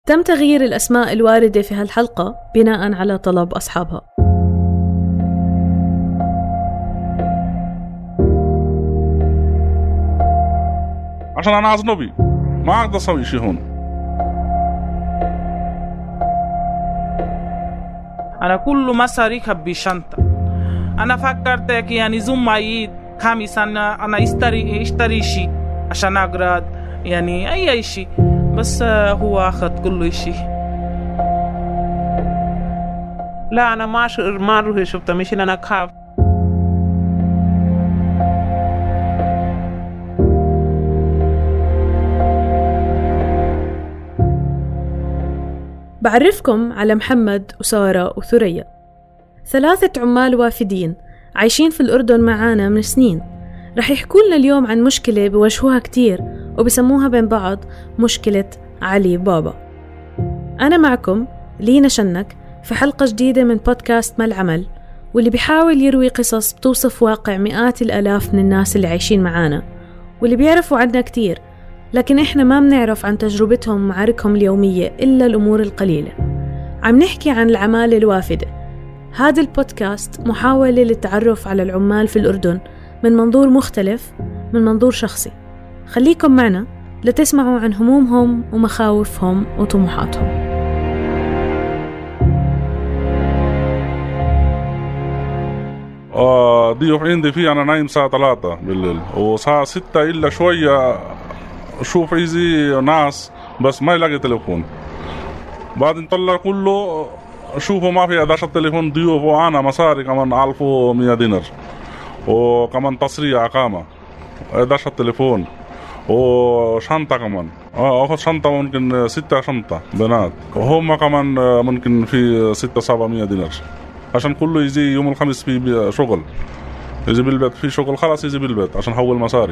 تم تغيير الأسماء الواردة في هالحلقة بناء على طلب أصحابها. عشان أنا أجنبي ما أقدر أسوي شيء هون. أنا كل مصاري خبي شنطة. أنا فكرت يعني زوم عيد خامس أنا اشتري شيء عشان أقرأ يعني أي شيء، بس هو أخذ كل شيء. لا أنا ما أروح شفته، مش أنا أخاف. بعرفكم على محمد وسارة وثريا، 3 عمال وافدين عايشين في الأردن معانا من سنين. رح يحكوا لنا اليوم عن مشكلة بواجهوها كتير وبسموها بين بعض مشكلة علي بابا. أنا معكم لينا شنك في حلقة جديدة من بودكاست ما العمل، واللي بيحاول يروي قصص بتوصف واقع مئات الآلاف من الناس اللي عايشين معانا واللي بيعرفوا عنا كتير، لكن إحنا ما بنعرف عن تجربتهم ومعاركهم اليومية إلا الأمور القليلة. عم نحكي عن العمالة الوافدة. هذا البودكاست محاولة للتعرف على العمال في الأردن من منظور مختلف، من منظور شخصي. خليكم معنا لتسمعوا عن همومهم ومخاوفهم وطموحاتهم. ضيوف عندي فيه أنا نايم الساعة 3 بالليل، وساعة 6 إلا شوية شوف يجي ناس بس ما يلاقي تليفون. بعدين طلع كله شوفوا ما في 11 تليفون ضيوف، وأنا مصاري كمان 1100 دينار، وكمان تصريح إقامة 11 تليفون، وشنطة كمان أخذ شنطة ممكن 6 شنطة بنات، وهم كمان ممكن في 600-700 دينار عشان كله يجي يوم الخميس في شغل، يجي بالبيت في شغل خلاص يجي بالبيت عشان حول مصاري.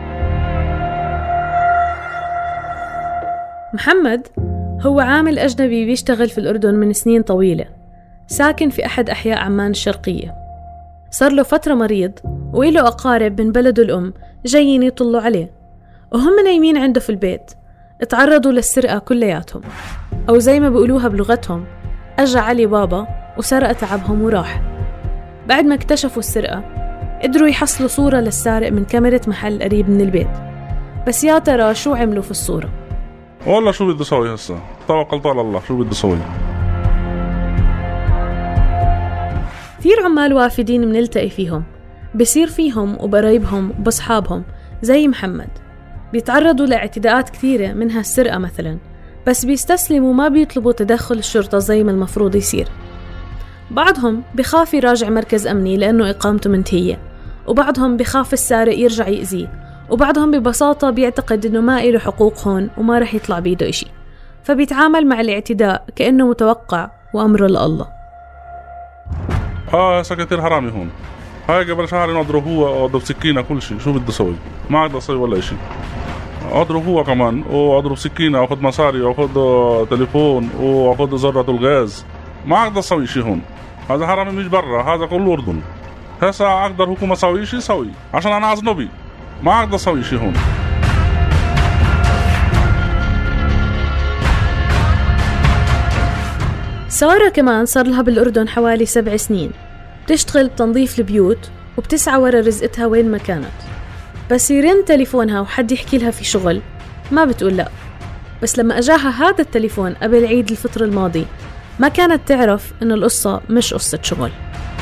محمد هو عامل أجنبي بيشتغل في الأردن من سنين طويلة، ساكن في أحد أحياء عمان الشرقية. صار له فترة مريض وإله أقارب من بلده الأم جايين يطلوا عليه، وهم نايمين عنده في البيت اتعرضوا للسرقة كلياتهم، أو زي ما بيقولوها بلغتهم أجا علي بابا وسرق تعبهم وراح. بعد ما اكتشفوا السرقة قدروا يحصلوا صورة للسارق من كاميرا محل قريب من البيت، بس يا ترى شو عملوا في الصورة؟ والله شو بدي أسوي هسه؟ توكلت على الله، شو بدي أسوي؟ كثير عمال وافدين منلتقي فيهم، بصير فيهم وبقرايبهم وبصحابهم زي محمد بيتعرضوا لاعتداءات كثيرة منها السرقة مثلا، بس بيستسلموا ما بيطلبوا تدخل الشرطة زي ما المفروض يصير. بعضهم بخاف يراجع مركز أمني لأنه إقامته منتهية، وبعضهم بخاف السارق يرجع يأذيه، وبعضهم ببساطة بيعتقد إنه ما إله حقوق هون وما رح يطلع بيده إشي، فبيتعامل مع الاعتداء كأنه متوقع وأمره لله. سكتير حرامي هون، هاي قبل شهر أضرب هو وأضرب سكينة كل شيء، شو بدي أسوي؟ ما أقدر أسوي ولا إشي. أضرب هو كمان وأضرب سكينة وأخذ مصاري وأخذ تليفون وأخذ ذرة الغاز، ما أقدر أسوي شيء هون. هذا حرامي مش برا، هذا كله أردن. هسا أقدر حكومة أسوي شيء سوي عشان أنا أجنبي، ما أقدر أسوي شيء هون. سارة كمان صار لها بالأردن حوالي 7 سنين، بتشتغل بتنظيف البيوت وبتسعى ورا رزقتها وين ما كانت، بس يرن تليفونها وحد يحكي لها في شغل ما بتقول لا. بس لما أجاها هذا التليفون قبل عيد الفطر الماضي ما كانت تعرف إن القصة مش قصة شغل.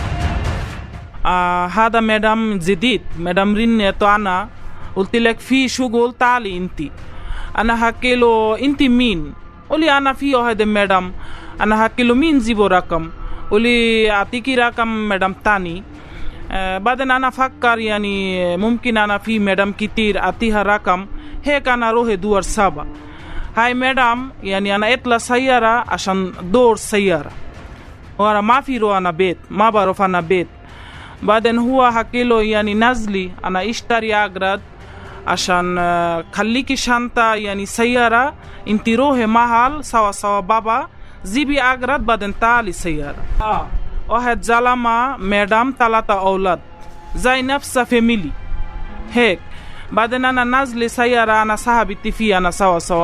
هذا مدام جديد، مدام رنت أنا قلت لك في شغل، تعالي انتي. أنا حكي له انتي مين؟ قولي أنا فيه هذا مدام. أنا حكي له مين جيبو رقم؟ قولي أعطيكي رقم مدام تاني. بعدين أنا فكر يعني ممكن أنا في مدام كتير أعطيها رقم، هيك أنا روح دور سابا. هاي مدام يعني أنا اطلع سيارة عشان دور سيارة، وأنا ما في رو أنا بيت، ما بعرف أنا بيت. بعدين هو حكي له يعني نزلي أنا اشتري أغراض عشان خليكي شنطة يعني سيارة، انتي روحي محل سوا بابا جيبي أغراض بعدين تعالي سيارة. واحد زلمة مدام 3 أولاد زي نفس فاميلي هيك. بعدين أنا نازل سيارة أنا صاحبتي فيه أنا سوا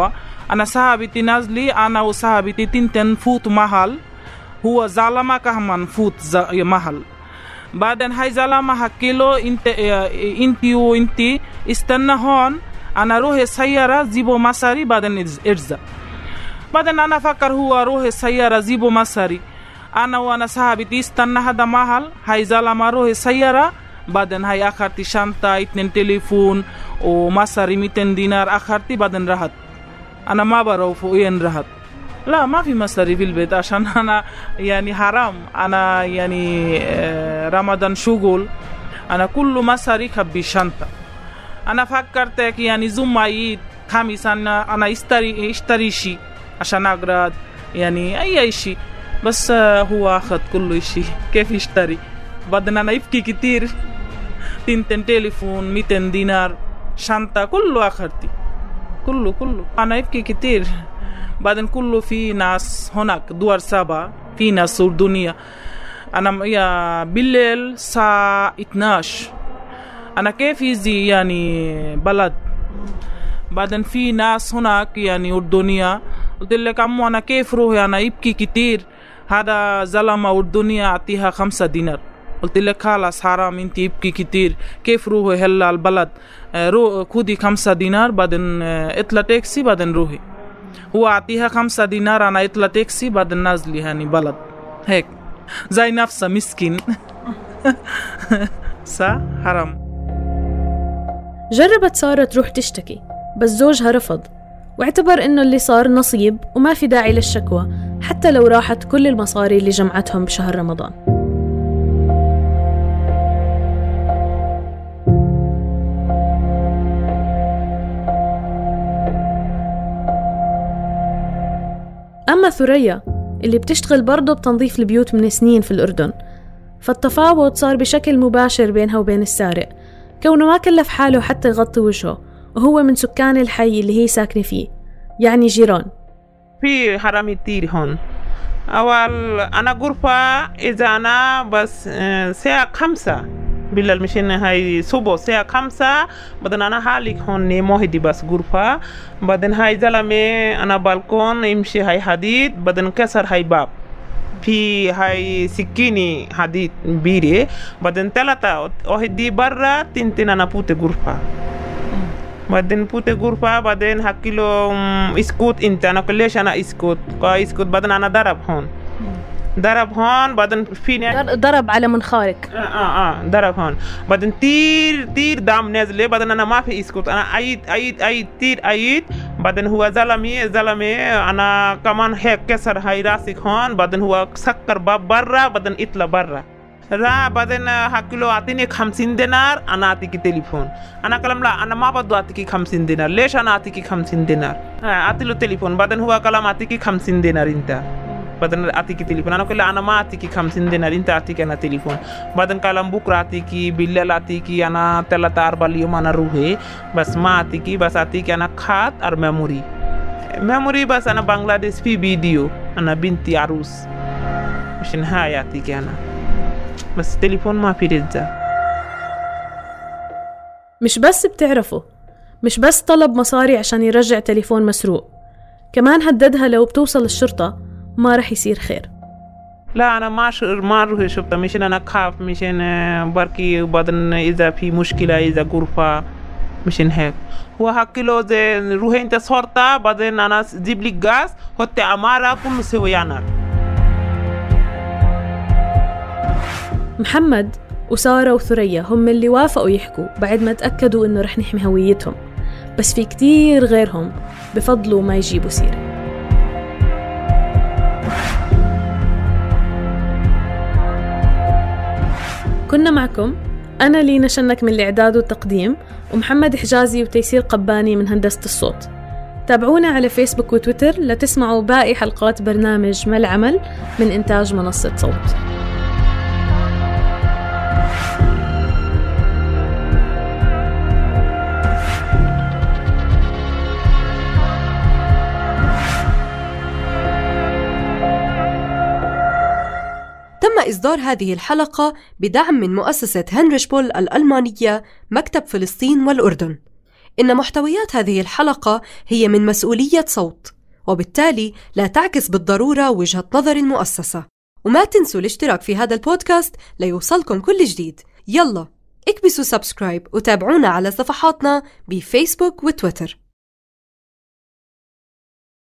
أنا صاحبتي نازلي أنا وصاحبتي تنتن فوت محل هو زلمة كمان فوت محل. بعدين هاي زلمة حكيله انتي وانتي استنى هون أنا روح السيارة زيبو مصاري بعدين ارجع. بعدين أنا فكر هو روح السيارة زيبو مصاري أنا وأنا صاحبتي استنى هذا محل هاي زلمة روح السيارة بعدين هاي أخرتي شنطة 2 تليفون ومصاري 200 دينار أخرتي بعدين راحت. أنا ما بعرف وين راحت. لا ما في مصاري في البيت عشان أنا يعني حرام أنا يعني رمضان شغل أنا كله مصاري خبي شنطة. أنا فكرت يعني زمايد خميس أنا اشتري شيء عشان أقرأ يعني أي شيء بس هو أخذ كل شيء كيف يشتري. بعدين أنا يبكي كتير 2 تليفون 200 دينار شنطة كله أخرتي كله أنا يبكي كتير. بعدين كله في ناس هناك دوار 7 في ناس أردنية. أنا يا بالليل الساعة 12 أنا كيف يزي يعني بلد. بعدين في ناس هناك يعني أردنية قلت لك أمو أنا كيف روحي أنا يبكي كتير هذا زلمة أردنية أعطيها 5 دينار. قلت لك خلاص حرام انت يبكي كتير كيف روحي هلا البلد خدي 5 دينار بعدين اطلع تاكسي بعدين روحي. هو أعطيها 5 دينار أنا اطلع تاكسي بعدين نازلي يعني بلد هيك زي نفسه مسكين. صح حرام. جربت سارة تروح تشتكي بس زوجها رفض واعتبر إنه اللي صار نصيب وما في داعي للشكوى حتى لو راحت كل المصاري اللي جمعتهم بشهر رمضان. أما ثريا اللي بتشتغل برضه بتنظيف البيوت من سنين في الأردن فالتفاوض صار بشكل مباشر بينها وبين السارق كونه ما كلف حاله حتى يغطي وجهه وهو من سكان الحي اللي هي ساكنة فيه يعني جيران. في حرامي كتير هون. أول أنا غرفة إذا أنا بس الساعة 5 بالليل مشين هاي صبح الساعة 5 بعدين أنا حالك هون موهدي بس غرفة بعدين هاي زلمة أنا بالكون يمشي هاي حديد بعدين كسر هاي باب في هاي سكيني حديد بيري بعدين 3 واحد برا 2 أنا بوت غرفة بعدين بوت غرفة بعدين حكيله اسكت انت أنا كلش أنا اسكت بعدين أنا ضرب هون بعدين فيني ضرب على منخارك ضرب هون بعدين تير دم نازل بعدين أنا ما في اسكت أنا عيد تير بعدين هو زلمي أنا كمان هيك كسر هاي راسك هون بعدين هو سكر باب برا بعدين اطلع برا بعدين حكيله أعطيني 50 دينار أنا أعطيك تليفون. أنا كلام لا أنا ما بدو أعطيك 50 دينار ليش أنا أعطيك 50 دينار أعطيله تليفون بعدين هو كلام أعطيك 50 دينار انت بعدين أعطيك تليفون. أنا كله أنا ما أعطيك 50 دينار انت أعطيك أنا تليفون. بعدين كلام بكرة أعطيك بالليل أعطيك أنا 3-4 اليوم أنا روحي بس ما أعطيك بس أعطيك أنا خات أر ميموري بس أنا بنغلاديش في فيديو أنا بنتي عروس مش نهاية أعطيك أنا بس تليفون ما في رجع. مش بس بتعرفوا مش بس طلب مصاري عشان يرجع تليفون مسروق كمان هددها لو بتوصل الشرطة ما رح يصير خير. لا أنا ما روح شفت مشان أنا خاف مشان بركي وبعدين إذا في مشكلة إذا غرفة مشان هيك هو حكيله زي روح أنت صورتها بعدين أنا جيب لي غاز حط أمارة كل سويانا. محمد وسارة وثريا هم اللي وافقوا يحكوا بعد ما تأكدوا إنه رح نحمي هويتهم بس في كتير غيرهم بفضلوا ما يجيبوا سيرة. كنا معكم أنا لينا شنك من الإعداد والتقديم ومحمد حجازي وتيسير قباني من هندسة الصوت. تابعونا على فيسبوك وتويتر لتسمعوا باقي حلقات برنامج ما العمل من إنتاج منصة صوت. تم إصدار هذه الحلقة بدعم من مؤسسة هنريش بول الألمانية مكتب فلسطين والأردن. إن محتويات هذه الحلقة هي من مسؤولية صوت، وبالتالي لا تعكس بالضرورة وجهة نظر المؤسسة. وما تنسوا الاشتراك في هذا البودكاست ليوصلكم كل جديد. يلا اكبسوا سبسكرايب وتابعونا على صفحاتنا بفيسبوك وتويتر.